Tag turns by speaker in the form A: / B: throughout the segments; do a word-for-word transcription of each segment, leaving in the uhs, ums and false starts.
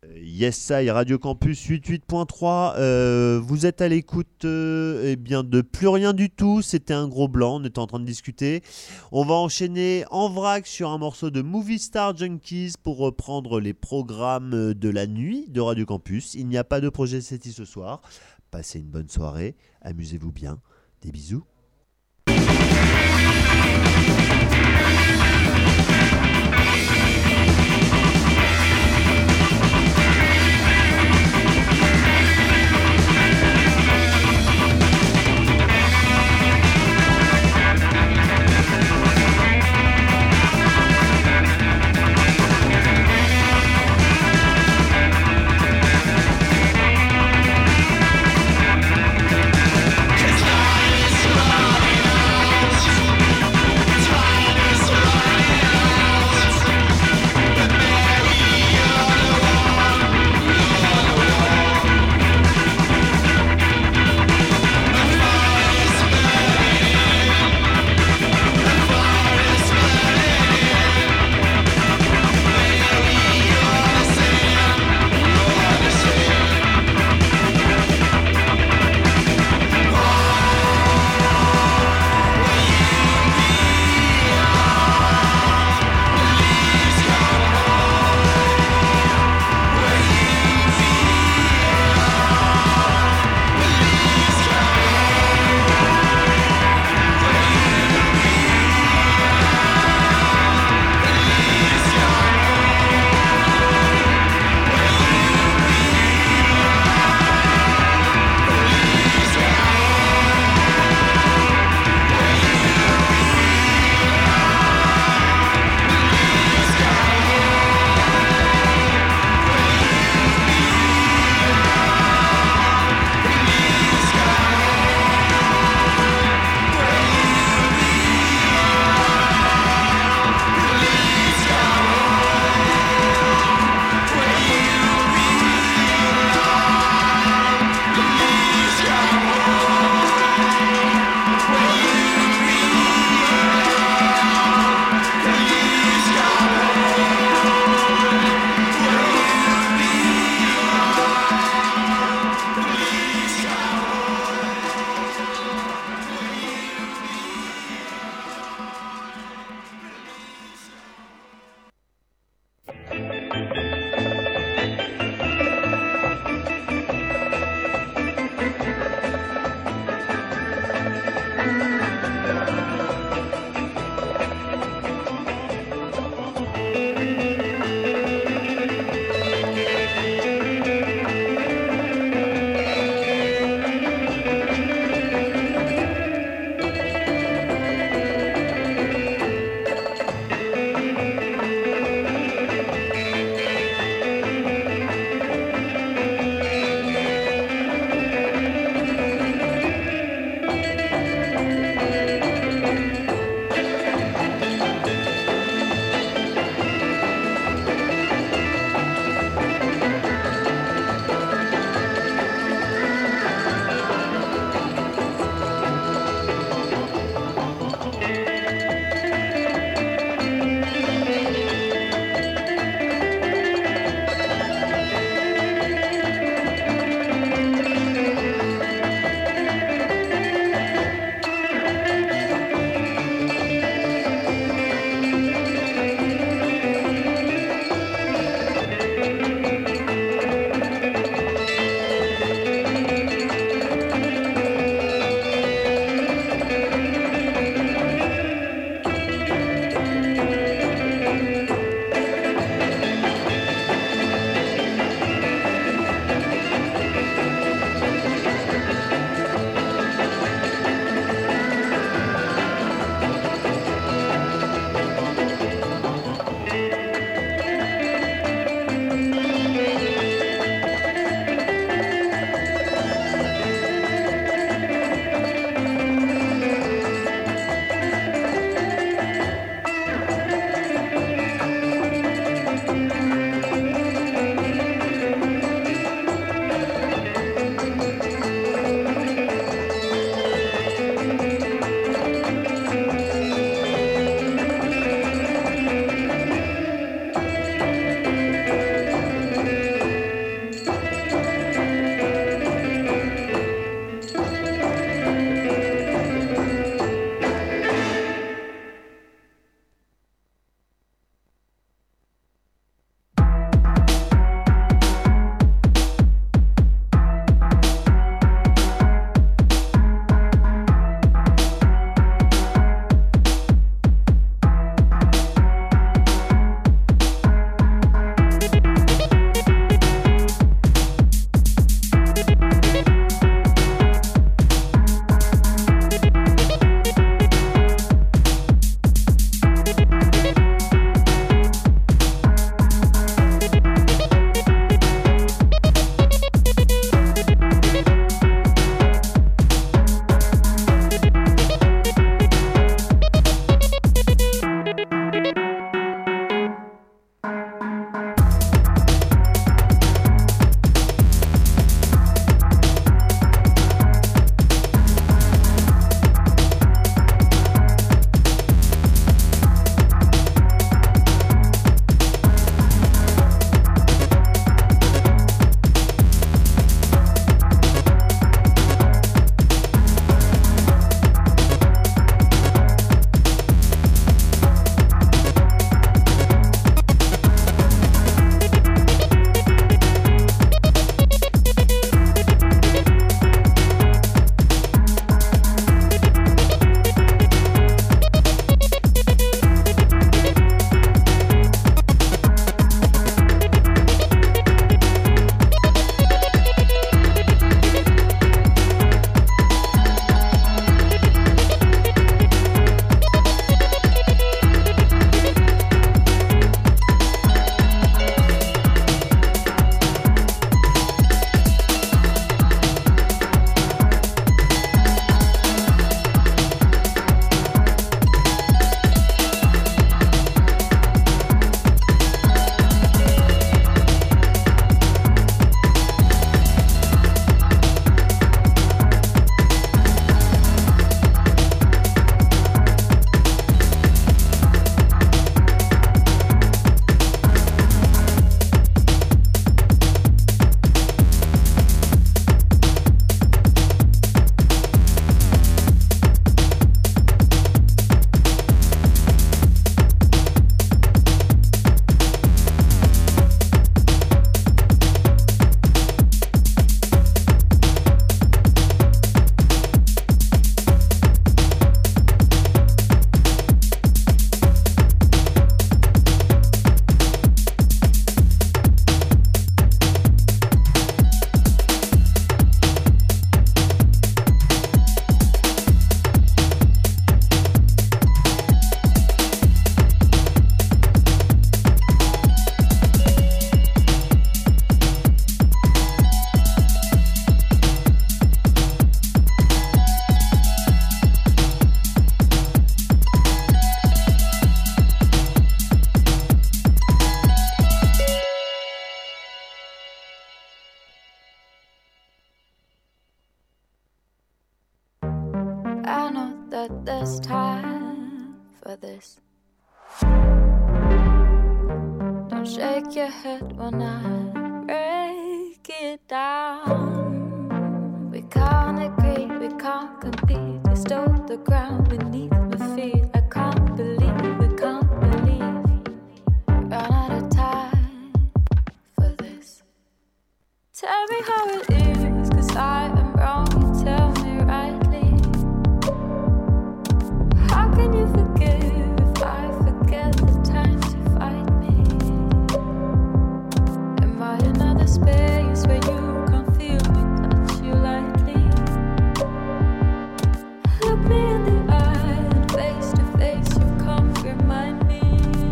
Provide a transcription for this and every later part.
A: Yes, I, Radio Campus quatre-vingt-huit point trois. Euh, vous êtes à l'écoute euh, eh bien, de plus rien du tout. C'était un gros blanc, on était en train de discuter. On va enchaîner en vrac sur un morceau de Movie Star Junkies pour reprendre les programmes de la nuit de Radio Campus. Il n'y a pas de projet S E T I ce soir. Passez une bonne soirée, amusez-vous bien. Des bisous.
B: It's but there's time for this. Don't shake your head when I break it down. We can't agree, we can't compete. You stole the ground beneath my feet. I can't believe, we can't believe. Run out of time for this. Tell me how it is, 'cause I am wrong. You tell me rightly. How can you forgive if I forget the times you fight me? Am I another space where you can't feel me, touch you lightly? Look me in the eye and face to face you come remind me.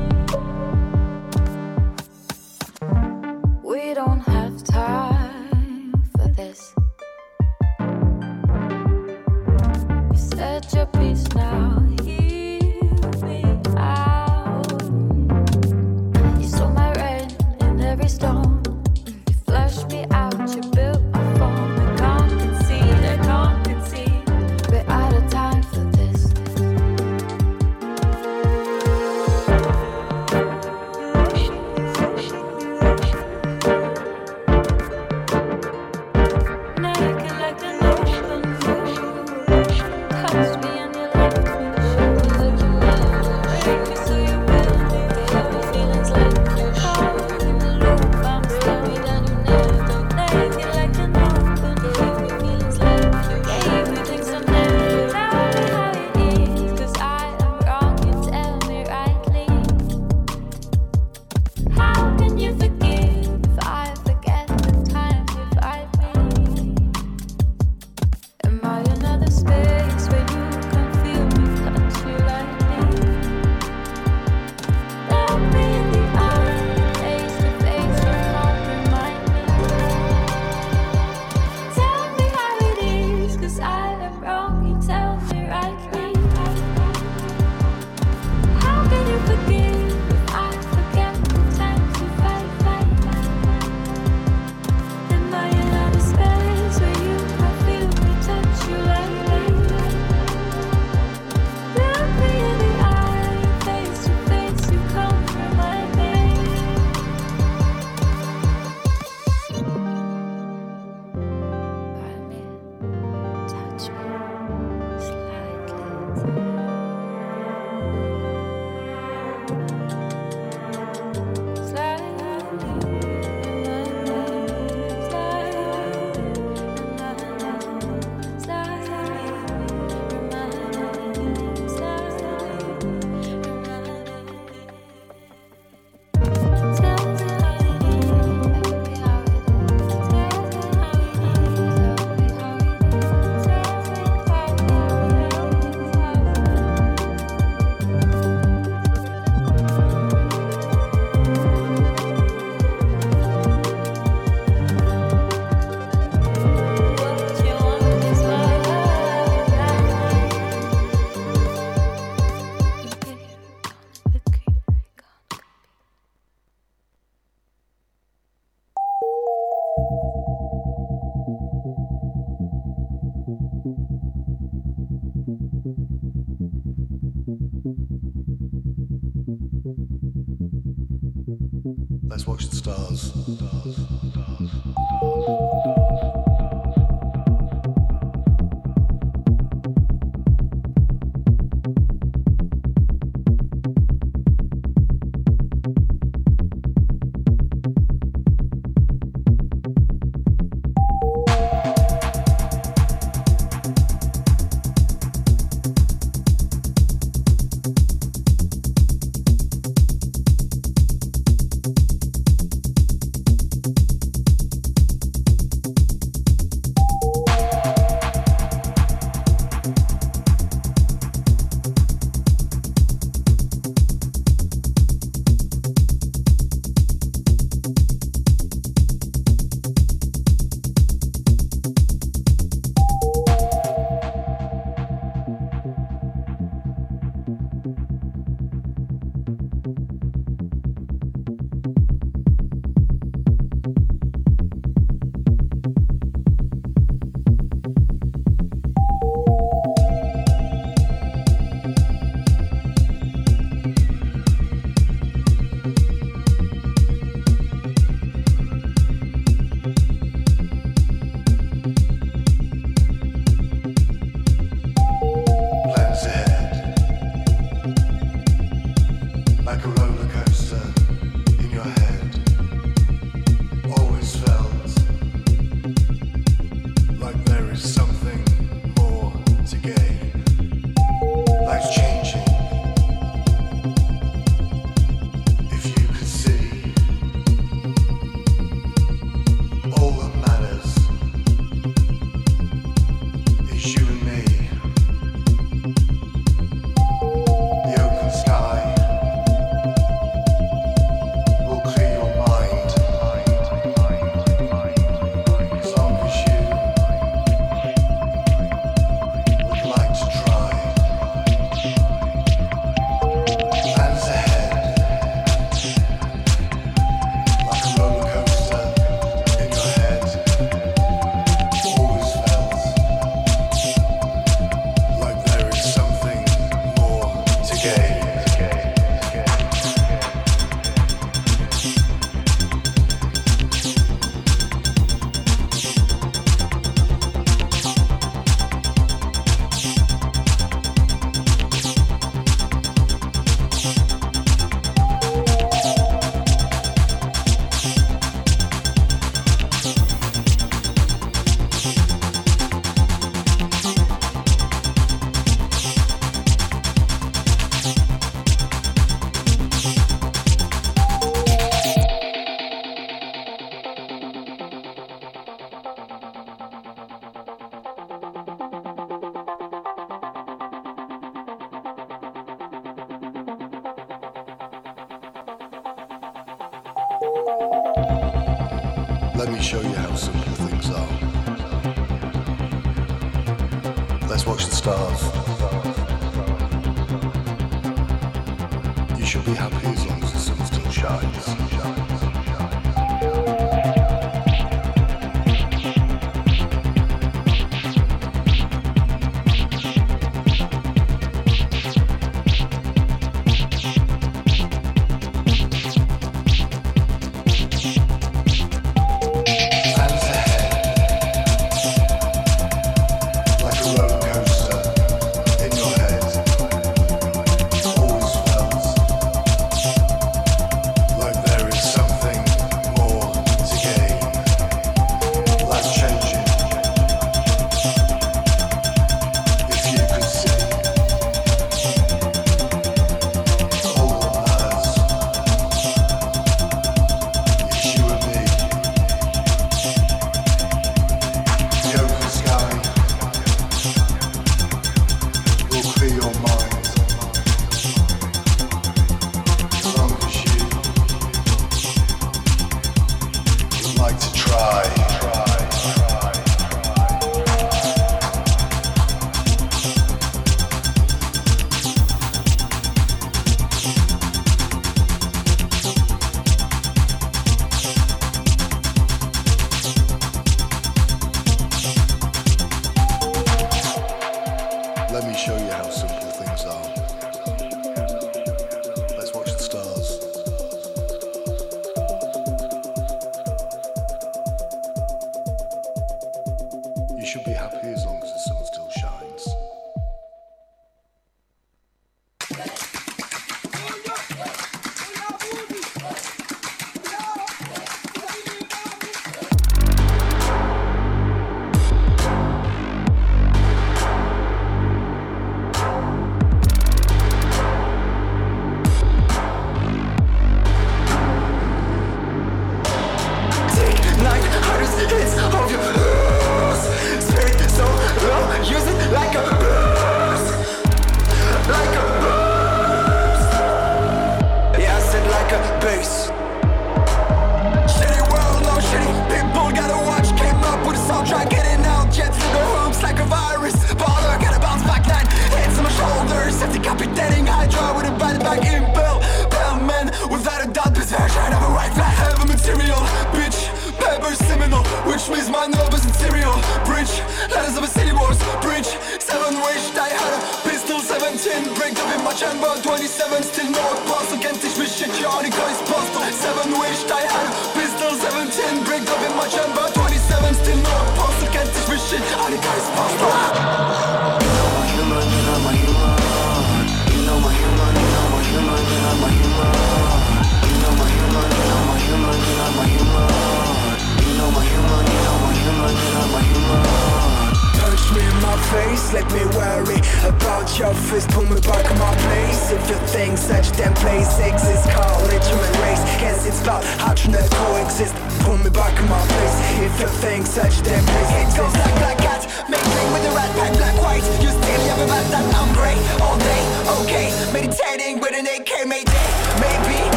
B: We don't have time for this. You said your piece now, hear me out. You stole my rain in every storm. You flushed me out, you built my form. I can't concede, I can't concede. We're out of time for this. Naked like an open wound. Touched me and you left me. Showed me that you loved me. Break me so you built me. Gave me feelings like you're caught in the loop. I'm sorry that you never. Naked like an open wound. Gave me feelings like you gave me things I never. Tell me how it is, 'cause I am wrong. You tell me rightly. How can you forgive if I forget the times you fight me? Am I another space where you can feel me, touch you lightly? Look me in the eye, face to face, you can't remind me. Tell me how it is, 'cause I am wrong, you tell me rightly. How can you forgive if I forget the times you fight, fight, fight? Am I another space where you can feel me, touch you lightly? Look me in the eye, face to face, you can't remind me. Remind me, touch me slightly.
C: Let's watch the stars. Stars. Stars. Let me show you how simple things are. Let's watch the stars. You should be happy as long as the sun still shines.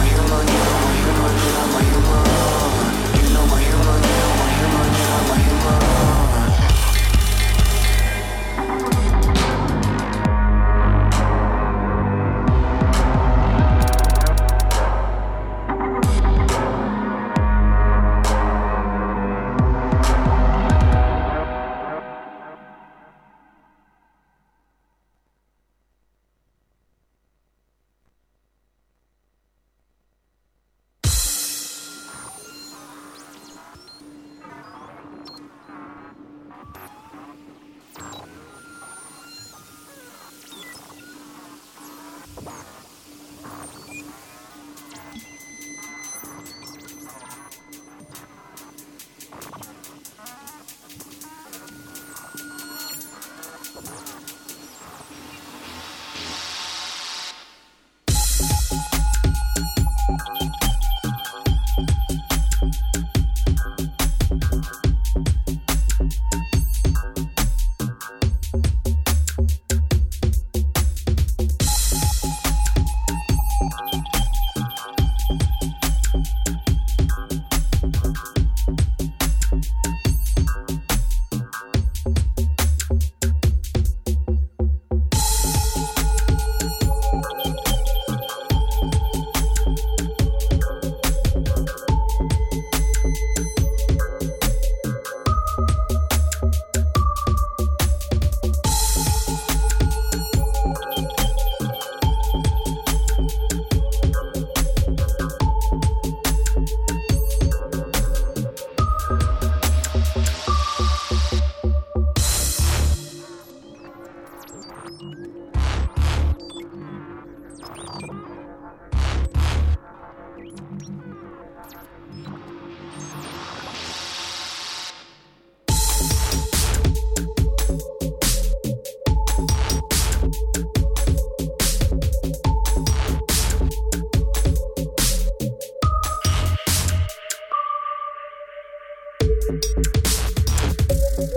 D: Human,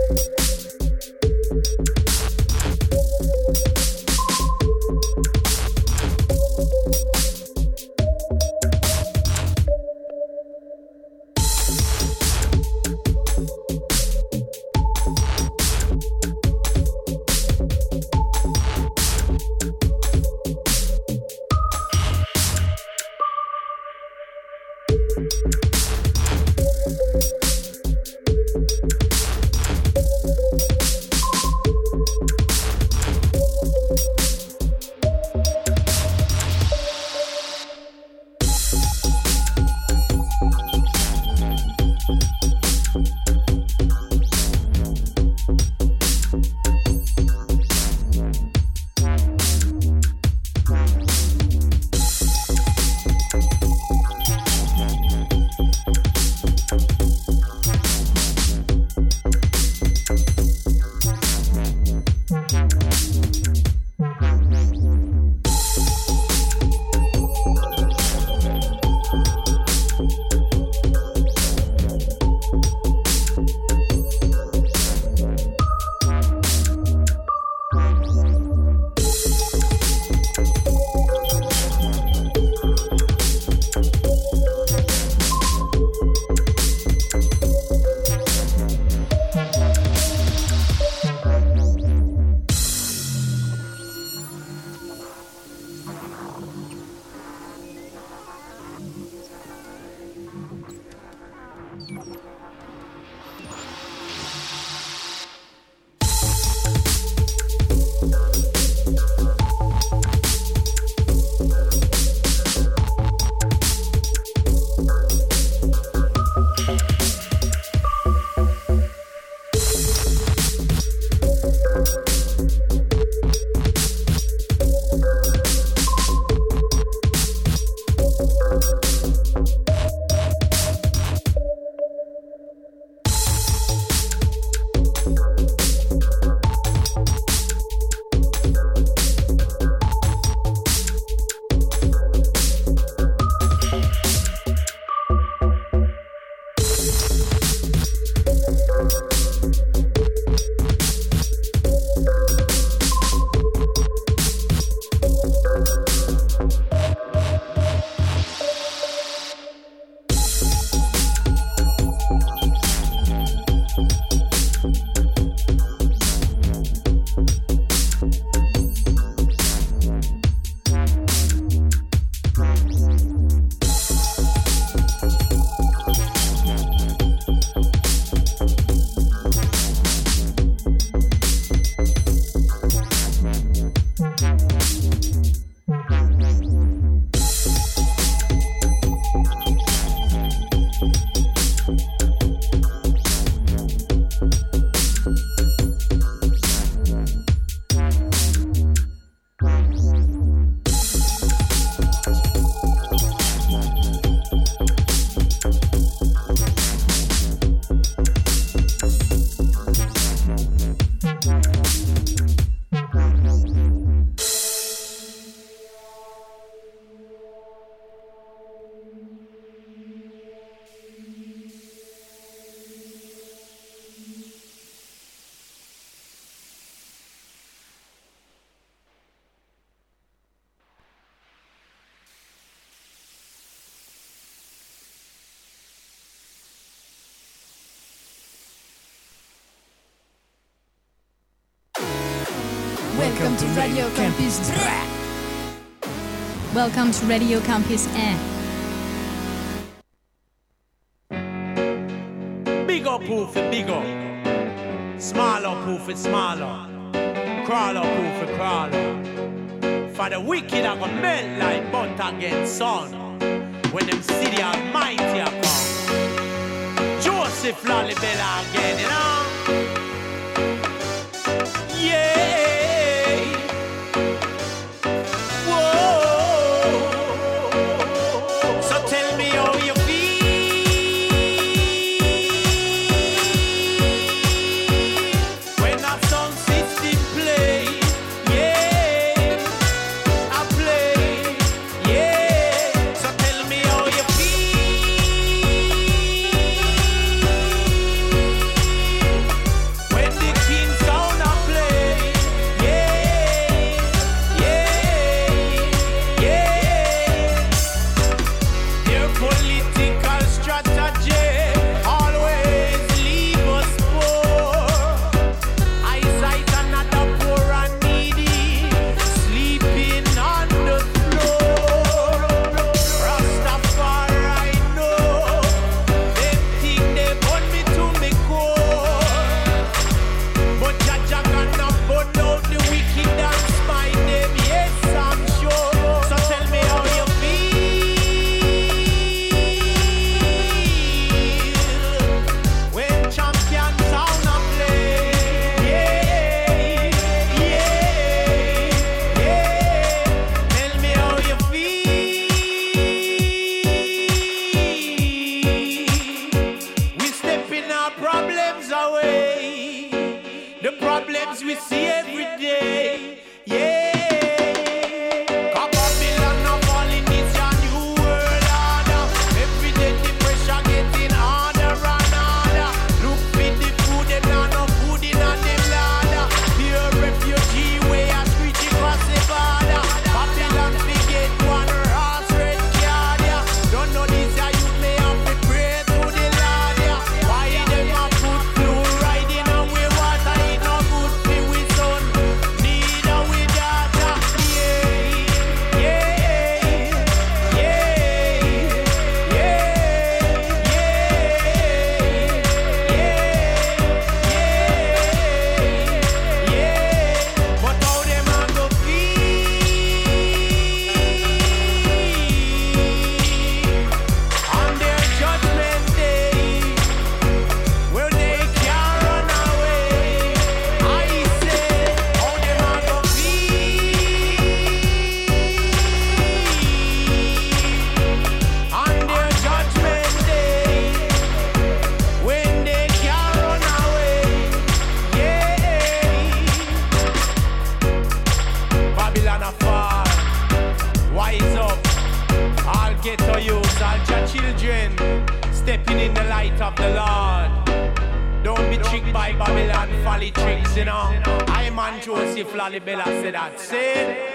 D: Welcome to Radio Campus. Welcome to Radio Campus Air.
E: Big up poof it big up. Smaller poof it smaller. Crawler poof it crawler. For the wicked I go melt like butter against sun. When them see the Almighty I come. Joseph Lalibela again, you know. Yeah. problems we see every day. Yeah. Cause Babylon now falling, it's a new world order. Every day the pressure getting harder and harder. Look for the food, them now no food in a them ladder. Pure refugee way a street across the border. Babylon forget one horse red card, yeah. Don't know this a youth may have to pray to the Lord, yeah. Why them a put fluoride in our water? It no good for we son, neither we daughter. Yeah, yeah, yeah, yeah, yeah, yeah, yeah. But how them a go feel on their judgment day, where they can't run away? I say, how them a go feel on their judgment day, when they can't run away? Yeah. Babylon a fall, wise up, all ghetto youths, all your children, stepping in the light of the Lord. Don't be tricked by Babylon folly tricks, you know. I man Joseph Lalibela said that. Say.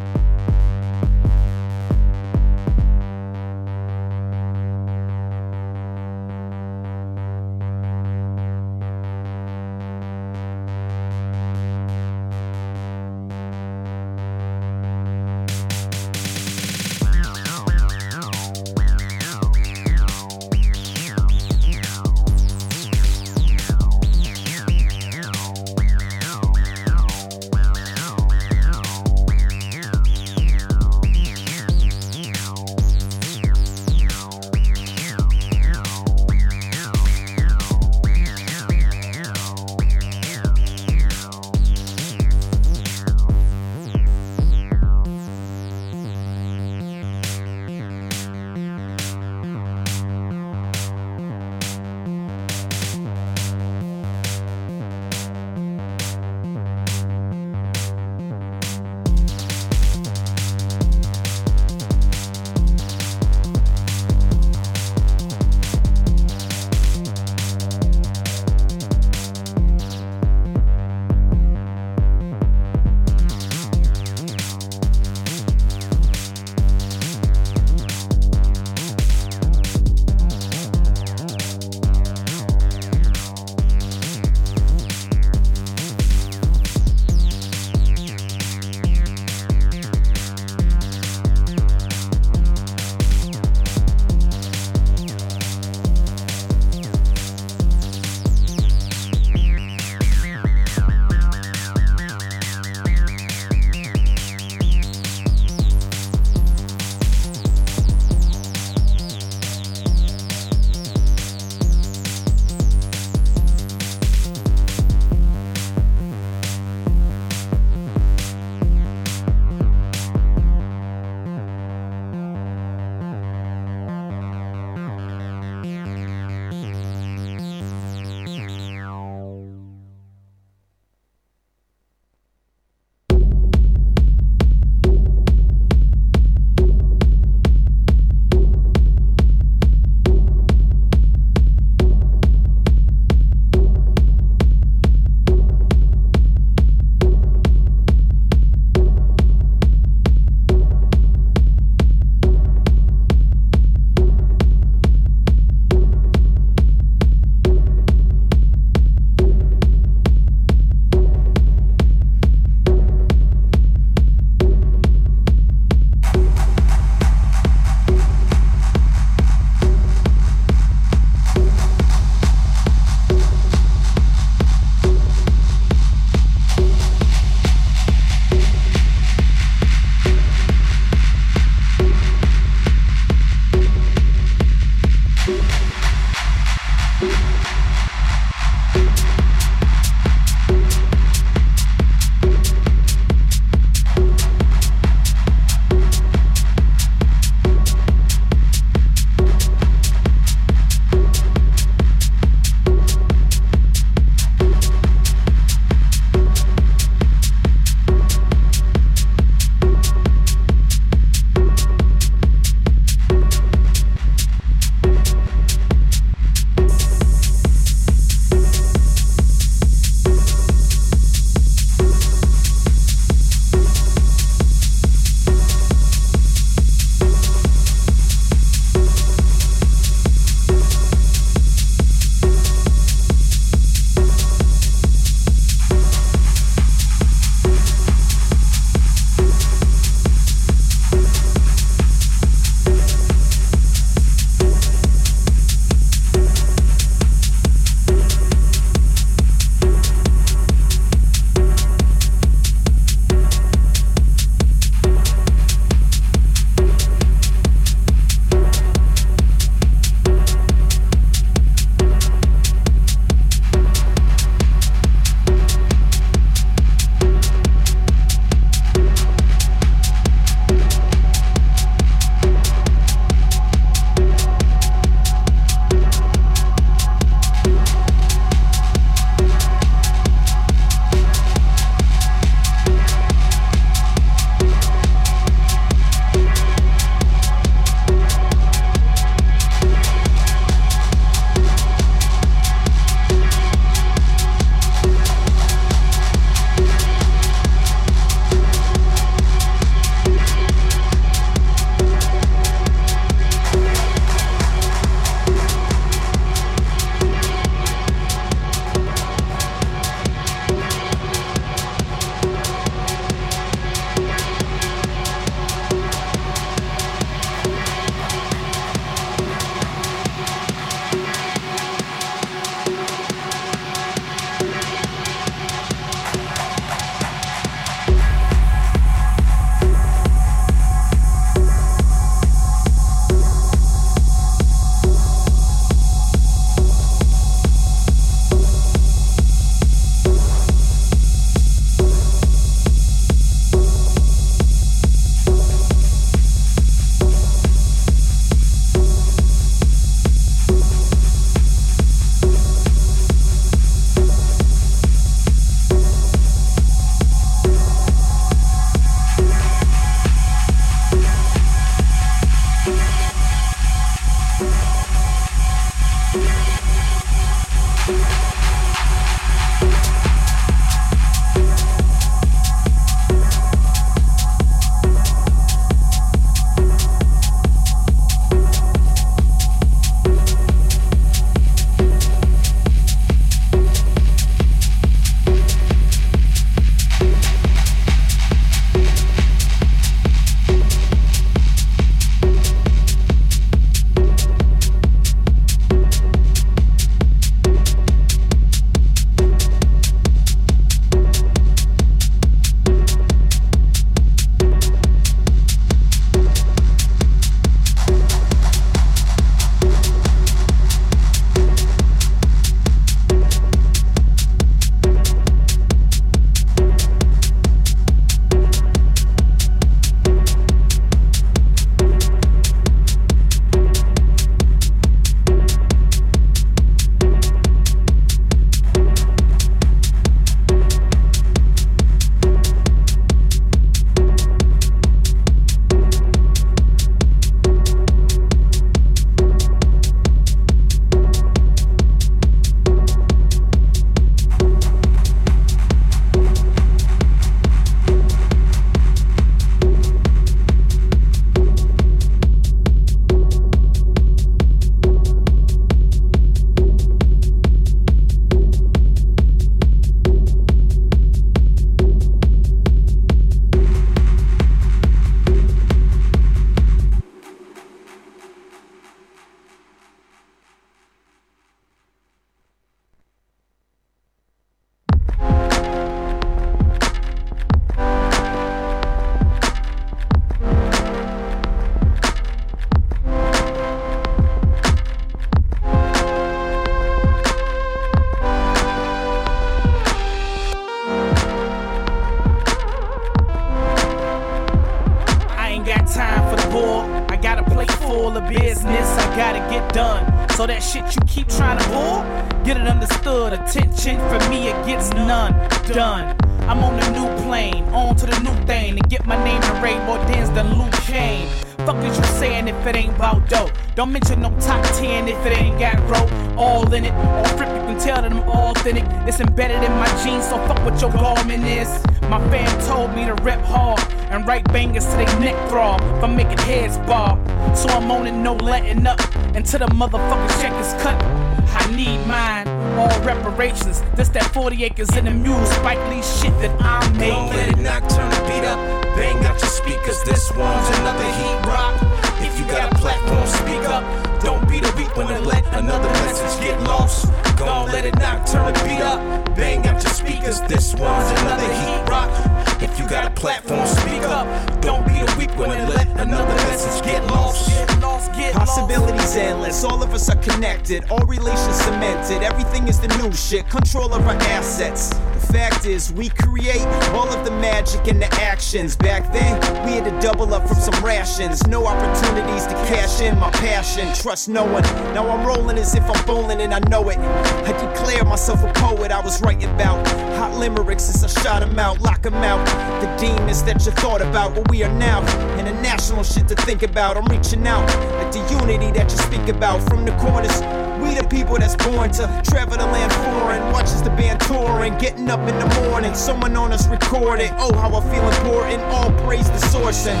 F: gotta get done. So that shit you keep trying to pull, get it understood. Attention from me, it gets none done. I'm on the new plane, on to the new thing. To get my name in Ray more dance than Luke Kane. Fuck is you saying if it ain't about dope? Don't mention no top ten if it ain't got rope. All in it, all flip, you can tell that I'm authentic. It's embedded in my genes, so fuck what your garment is. My fam told me to rep hard and write bangers to they neck throb. If I'm making heads bob, so I'm on it, no letting up until the motherfucking check is cut. I need mine, all reparations. This that forty acres in the mule, Spike Lee shit that I'm making.
G: Don't let it knock, turn the beat up. Bang out your speakers, this one's another heat rock. If you got a platform, speak up. Don't be the weak one to let another message get lost. Don't let it knock, turn the beat up. Bang out your speakers, this one's another heat rock. If you got a platform, speak up. Don't be the weak one to let another message get lost.
F: Get lost, get
H: Possibilities endless, all of us are connected, all relations cemented, everything is the new shit, control of our assets. The fact is, we create all of the magic and the actions. Back then, we had to double up from some rations. No opportunities to cash in my passion. Trust no one. Now I'm rolling as if I'm bowling and I know it. I declare myself a poet. I was writing about hot limericks since I shot them out, lock them out. The demons that you thought about, where we are now. International shit to think about. I'm reaching out at the unity that you speak about. From the corners, we the people that's born to travel the land foreign. Watches the band touring, getting up in the morning. Someone on us recording. Oh, how I feel important. All praise the sourcing.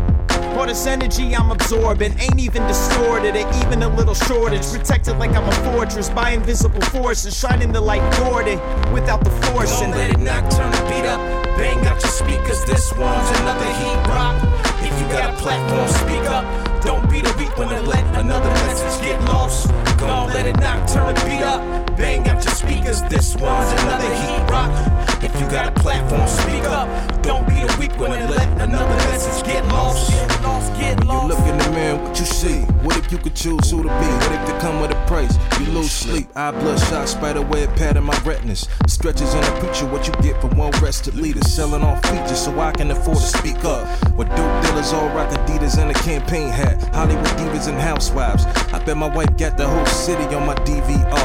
H: All this energy I'm absorbing ain't even distorted, or even a little shortage. Protected like I'm a fortress by invisible forces, shining the light Gordon without the forcing.
G: Don't let it knock, turn the beat up. Bang out your speakers, this one's another heat rock. If you got a platform, speak up. Don't be the weak one to let another message get lost. Don't let it knock, turn the beat up. Bang out your speakers, this one's another heat rock. If you got a platform, speak up. Don't be the weak one to let another message get lost.
F: Get lost, get
I: When
F: lost.
I: you look in the mirror, what you see? What if you could choose who to be? What if they come with a price? You lose sleep, eye bloodshot, spider web pattern my retinas. Stretches in a preacher, what you get for one rested leader. Selling off features so I can afford to speak up. With dope dealers all rock Adidas and a campaign hat. Hollywood divas and housewives. I bet my wife got the whole city on my D V R.